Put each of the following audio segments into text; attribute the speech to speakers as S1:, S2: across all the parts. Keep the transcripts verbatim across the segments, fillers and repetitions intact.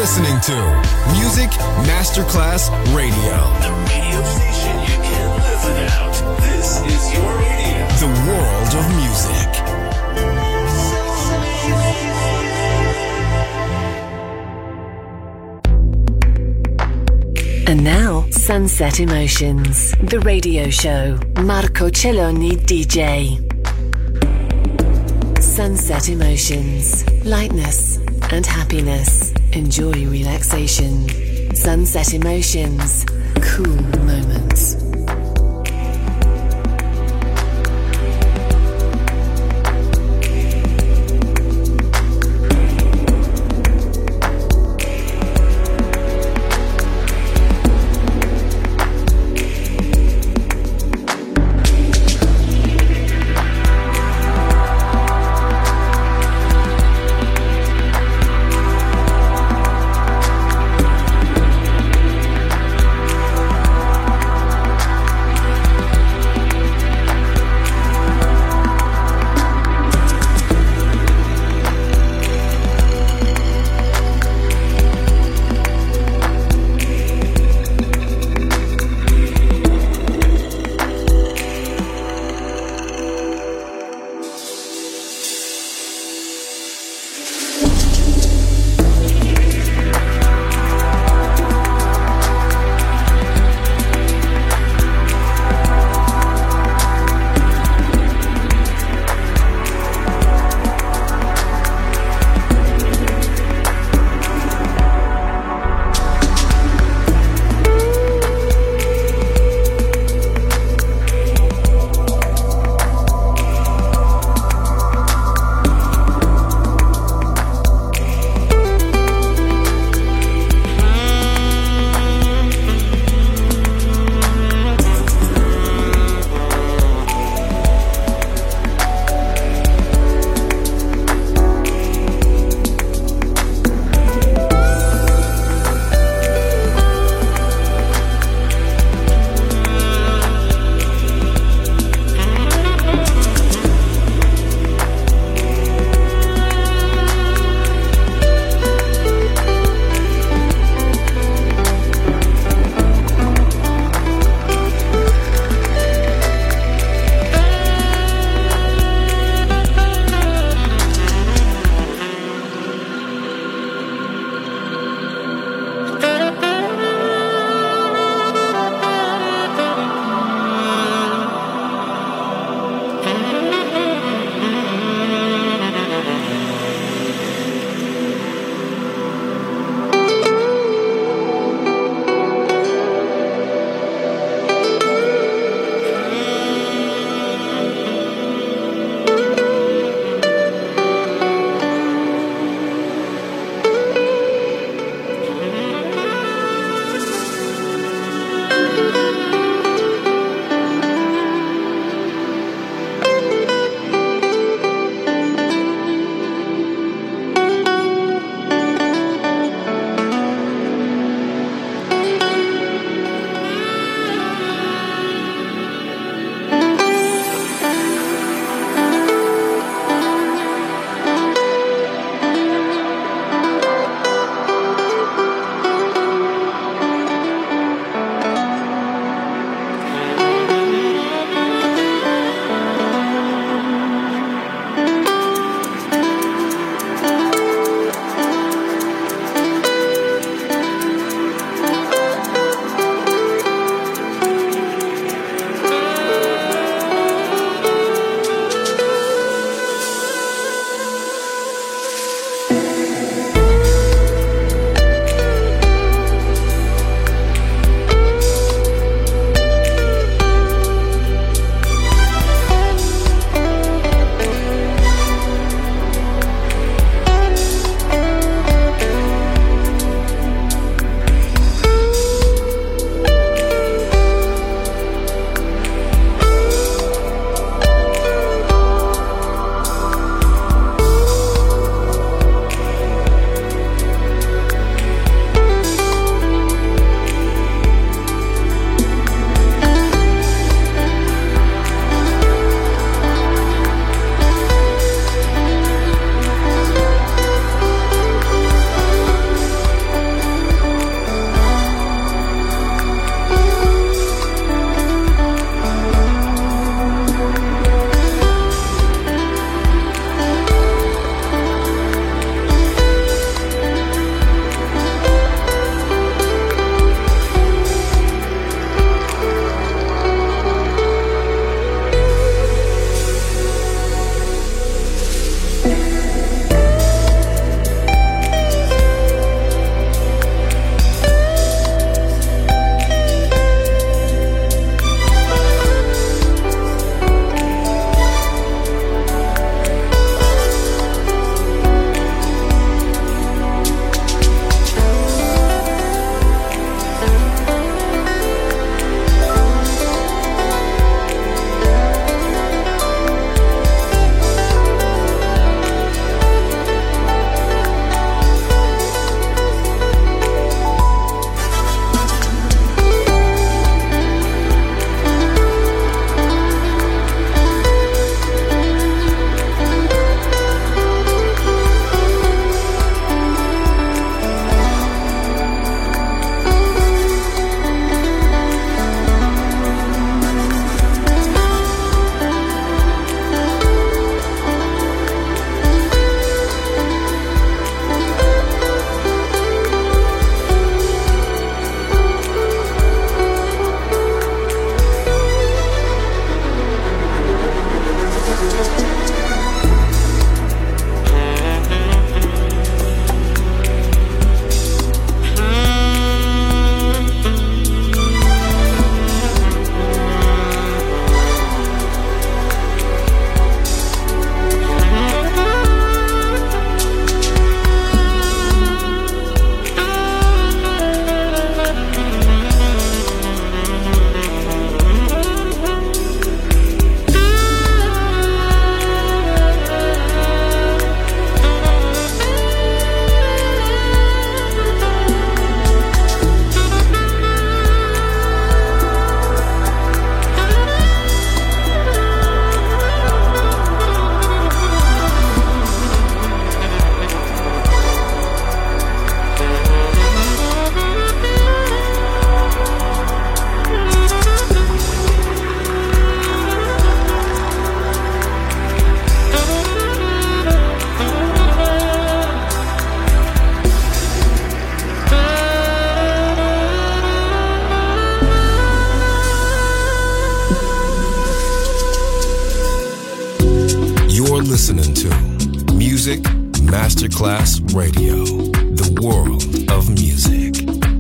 S1: listening to Music Masterclass Radio.
S2: The radio station you can't live without. This is your radio.
S1: The world of music.
S3: And now, Sunset Emotions, the radio show. Marco Celloni D J. Sunset Emotions, lightness and happiness. Enjoy relaxation. Sunset Emotions, cool moments.
S1: Music Masterclass Radio. The world of music.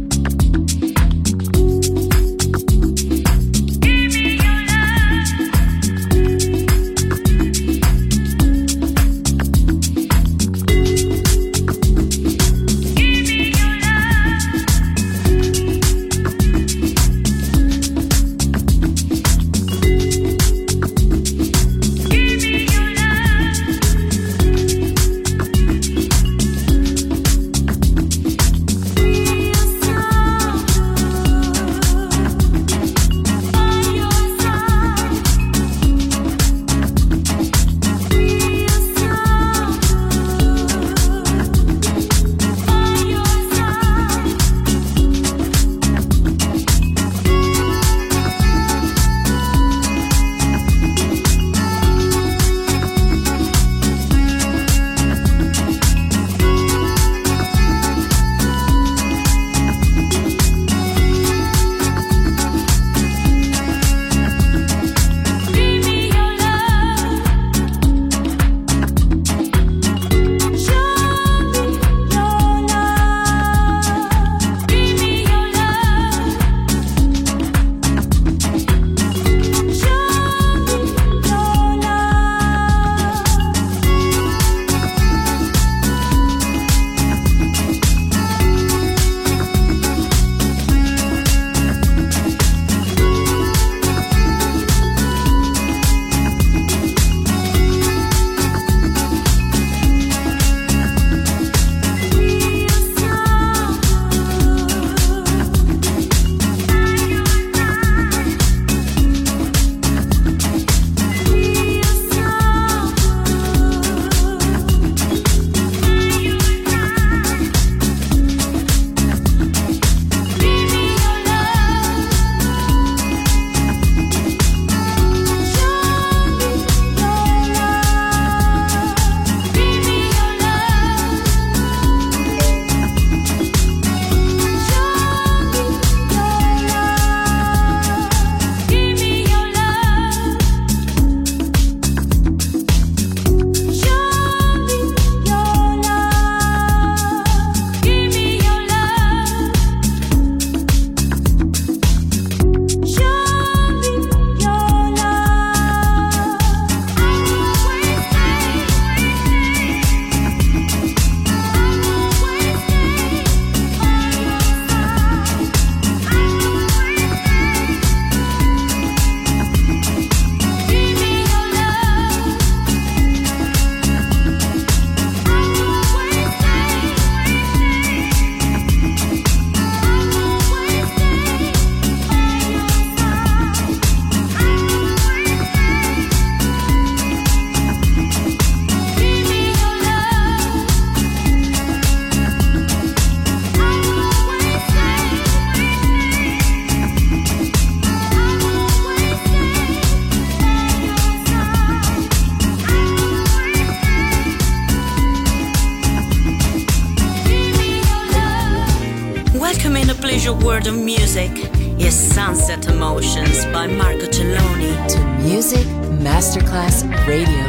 S4: World of Music is Sunset Emotions by Marco Celloni.
S3: To Music Masterclass Radio.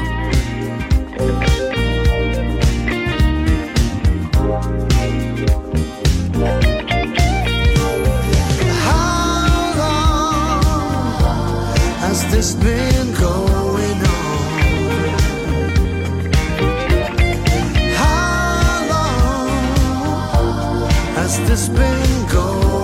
S5: How long has this been going on? How long has this been going on?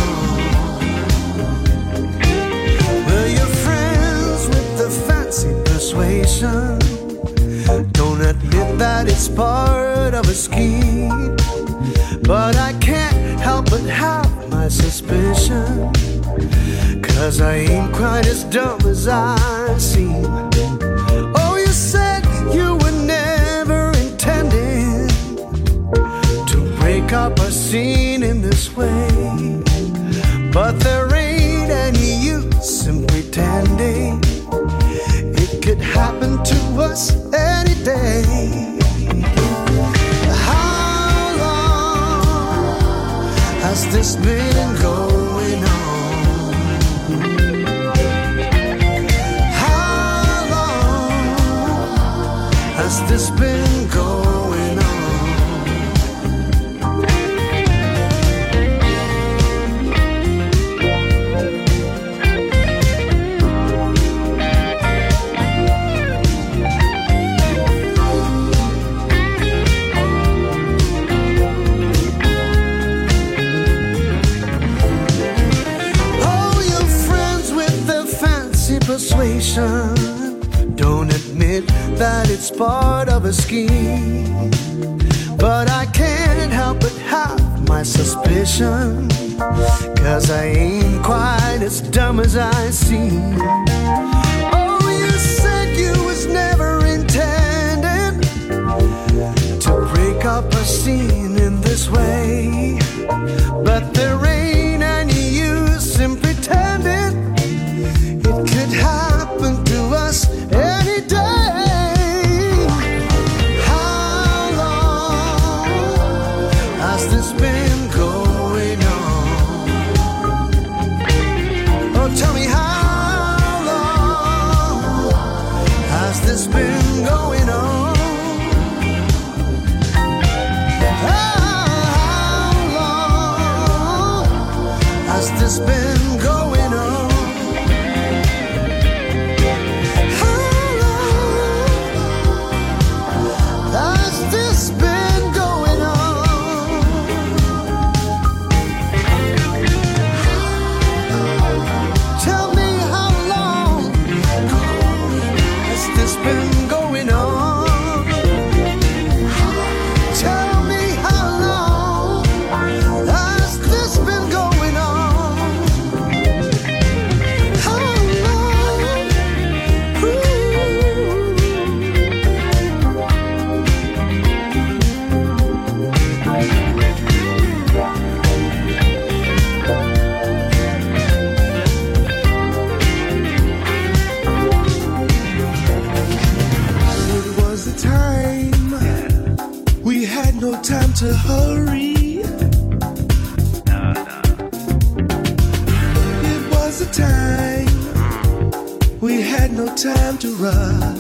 S5: Persuasion. Don't admit that it's part of a scheme, but I can't help but have my suspicion, 'cause I ain't quite as dumb as I seem. Oh, you said you were never intending to break up a scene in this way, but there ain't any use in pretending. It could happen to us any day. How long has this been going on? How long has this been going on? it's part of a scheme. But I can't help but have my suspicion, 'cause I ain't quite as dumb as I seem. Oh, you said you was never intended to break up a scene in this way, but there ain't any use in pretending. It could happen to us any day. How long has this been going on? Oh, tell me, how long has this been going on? How long has this been going on? To hurry. No, no. It was a time we had no time to rush.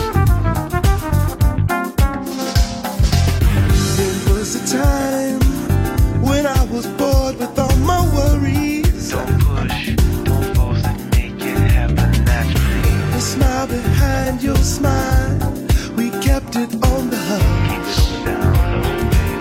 S5: It was a time when I was bored with all my worries.
S6: Don't push, don't force it, make it happen naturally.
S5: The smile behind your smile, we kept it on the hush.
S6: Keep it down low.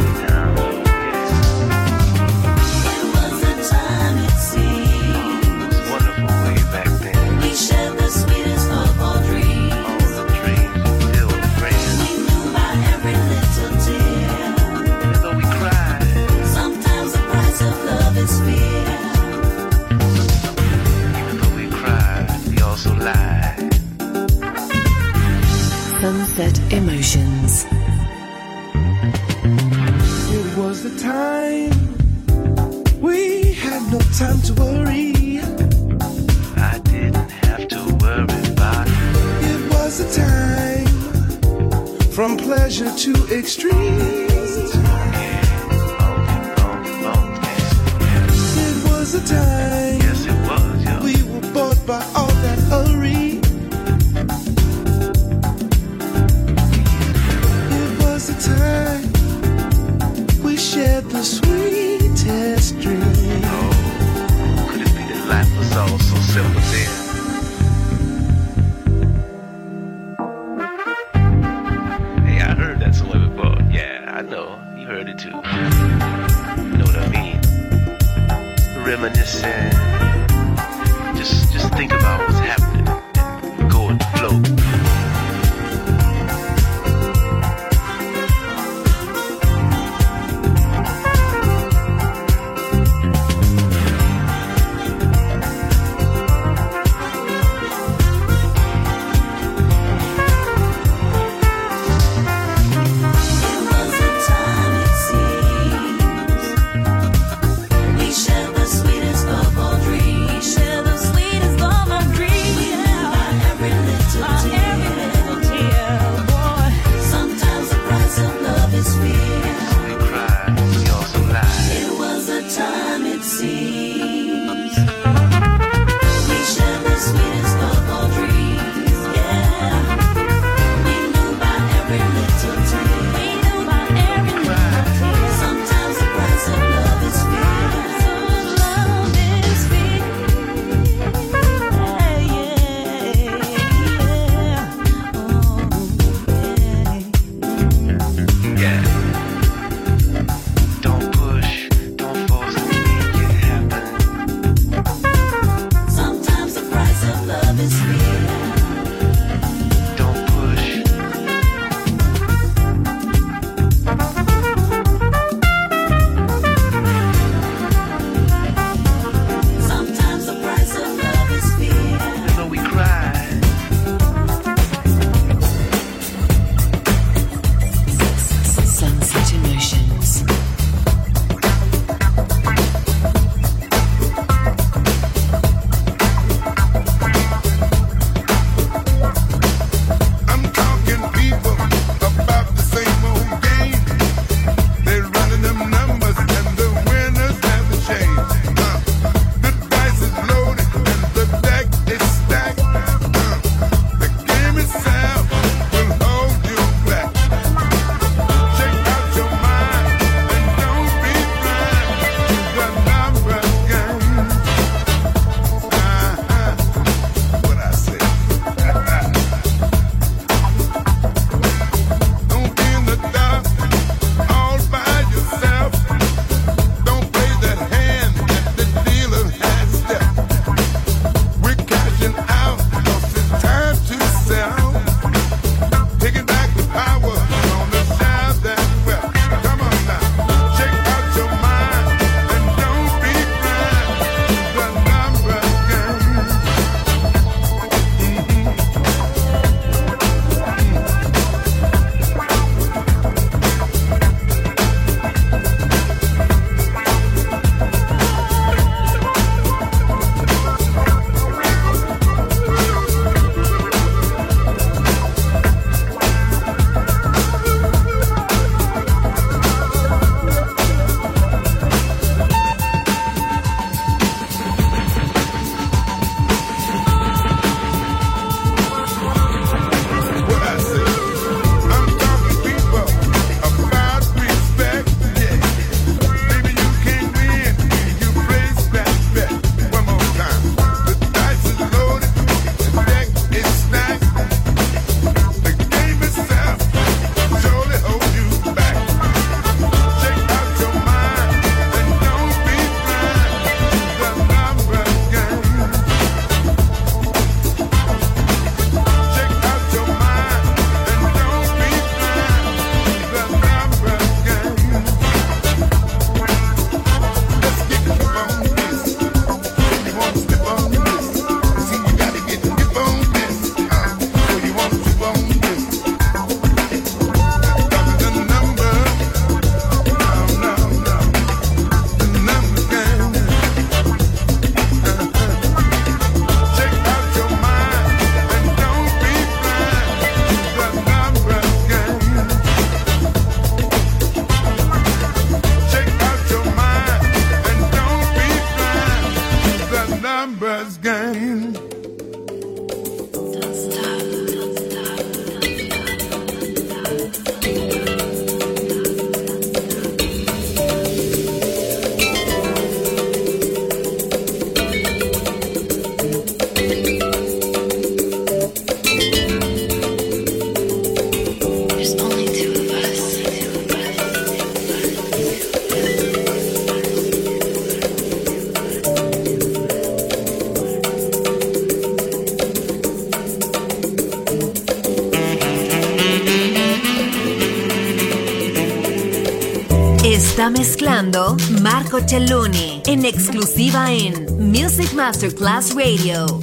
S3: Sunset Emotions.
S5: It was the time we had no time to worry.
S6: I didn't have to worry about it.
S5: It was the time from pleasure to extreme. It was the time.
S6: Yes, it was, yo.
S5: We were bored by all that hurry. The time we shared the sweetest dream.
S6: Oh, could it be that life was all so simple then? Hey, I heard that somewhere before. Yeah, I know. You heard it too. You know what I mean? Reminiscing. Just, just think about what's happening and go with the flow.
S4: Share the sweetest of all dreams.
S3: Está mezclando Marco Celloni en exclusiva en Music Masterclass Radio.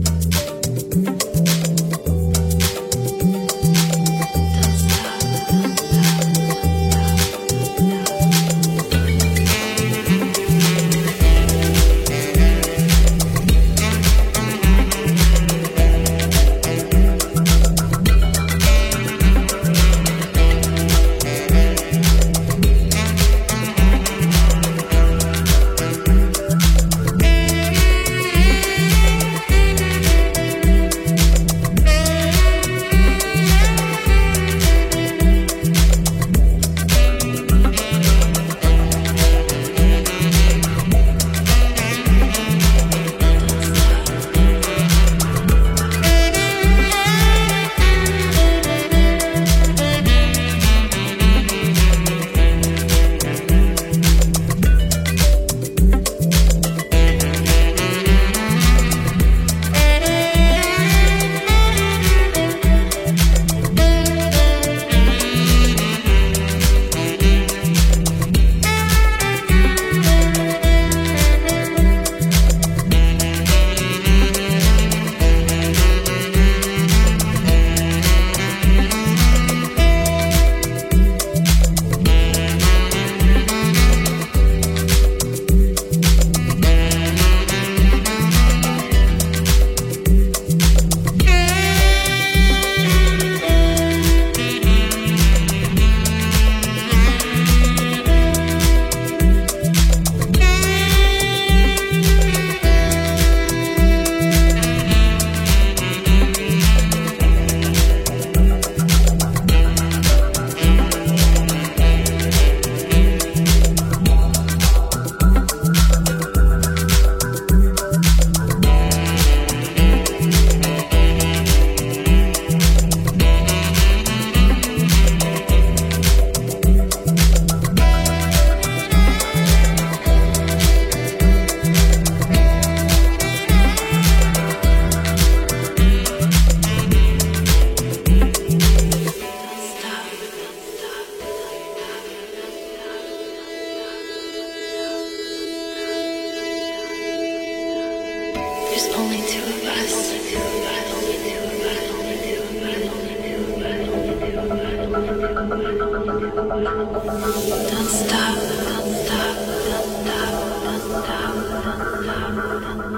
S7: Don't stop, don't stop, don't stop, don't stop, don't stop, don't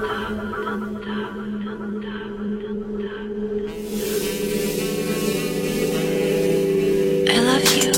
S7: stop. I love you.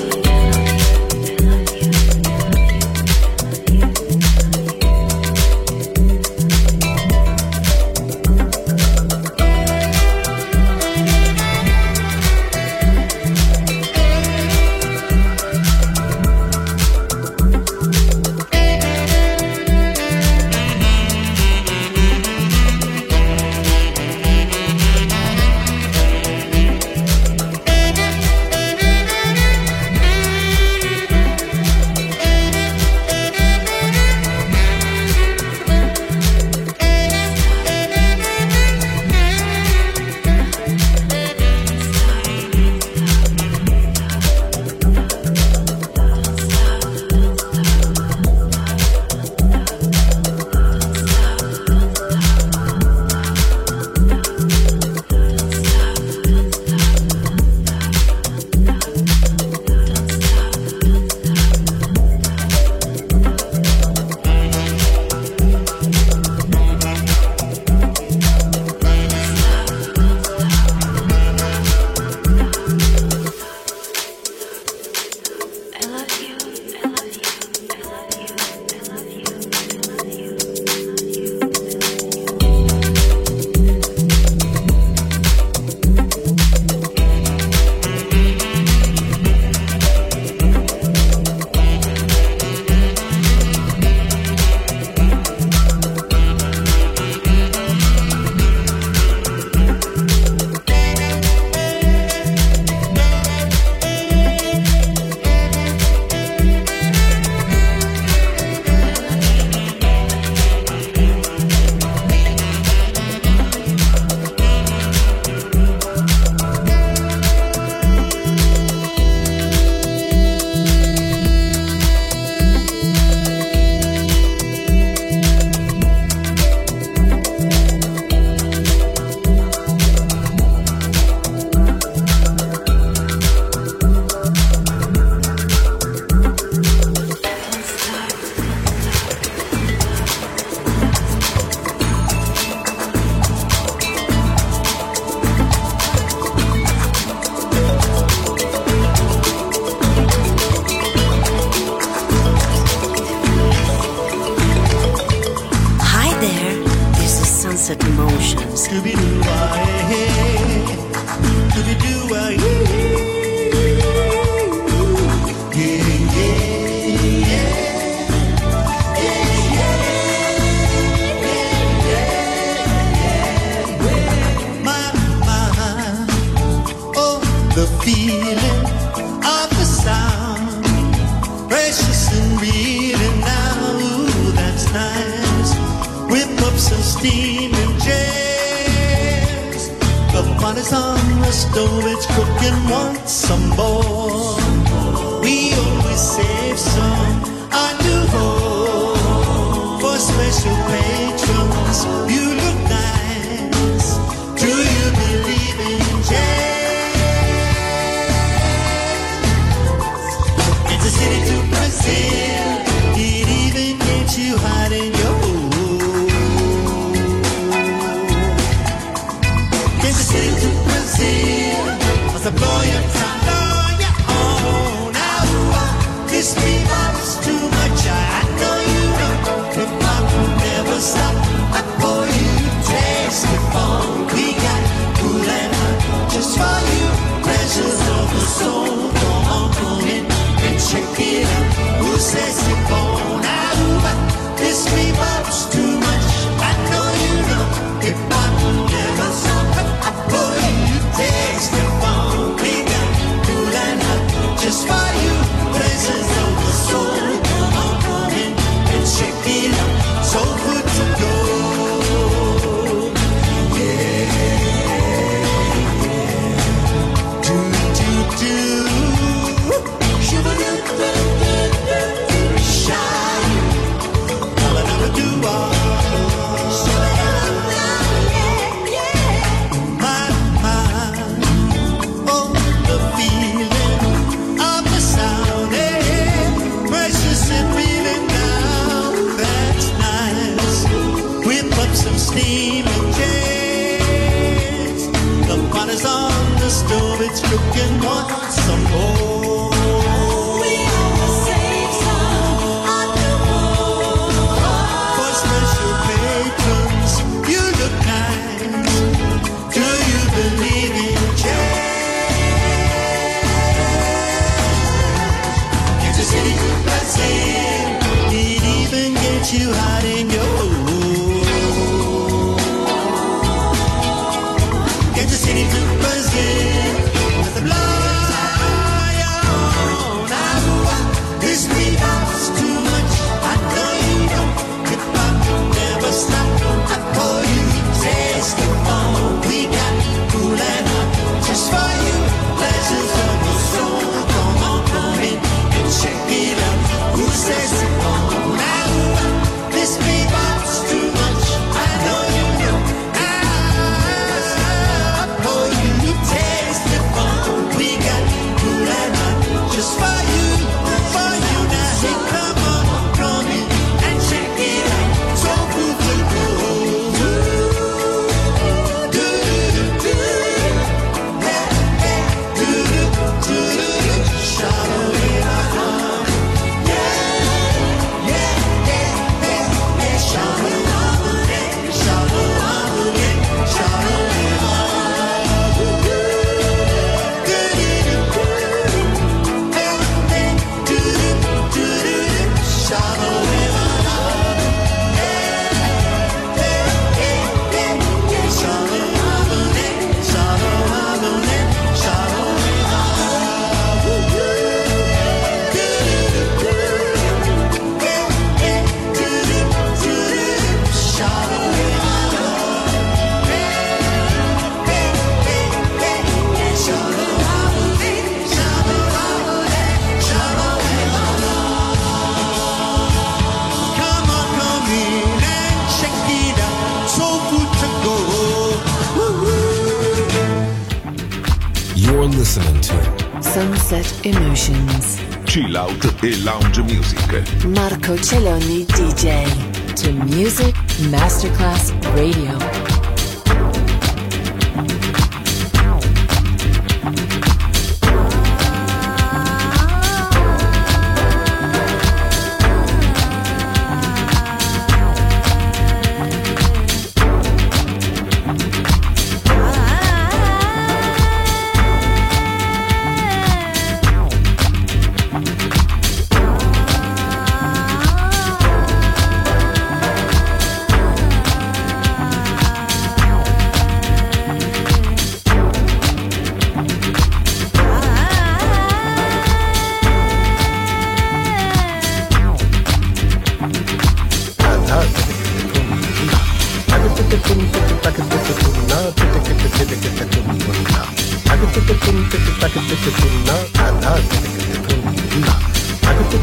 S1: listening to
S3: Sunset Emotions.
S8: Chill out e lounge music.
S3: Marco Celloni D J to Music Masterclass Radio.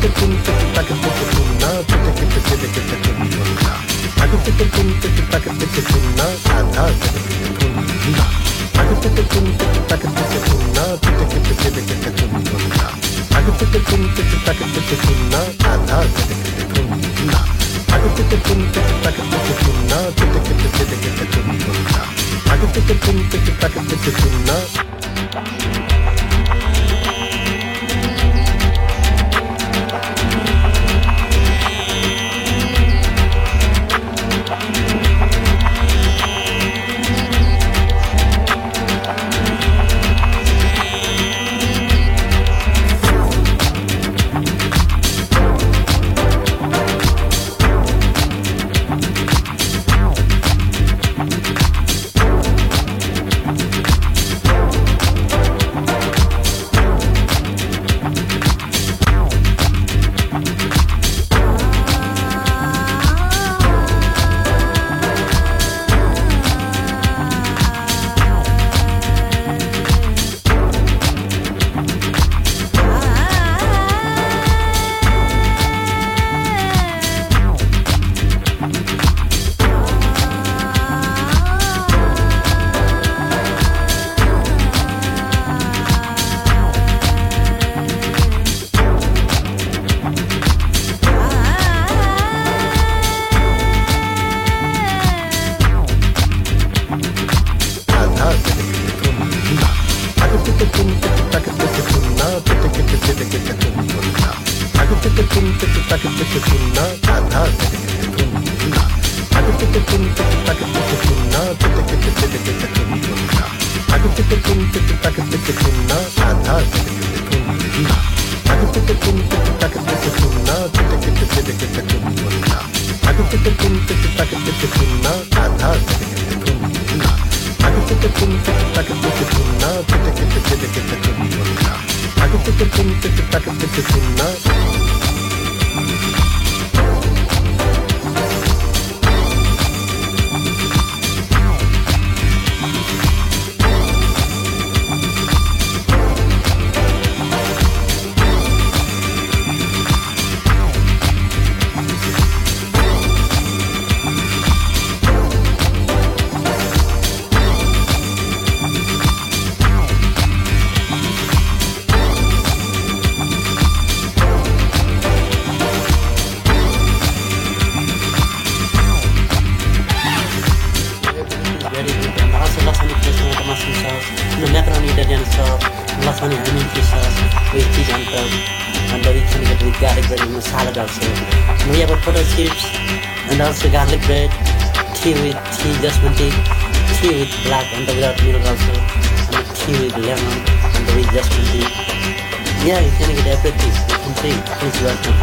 S9: And also garlic bread, tea with tea, just one tea, tea with black and without milk also, and tea with lemon and with just one tea. Yeah, you can get everything. You can see. Please welcome.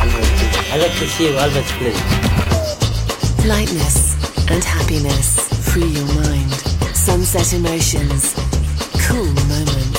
S9: I like to see you always play.
S3: Lightness and happiness. Free your mind. Sunset emotions. Cool moments.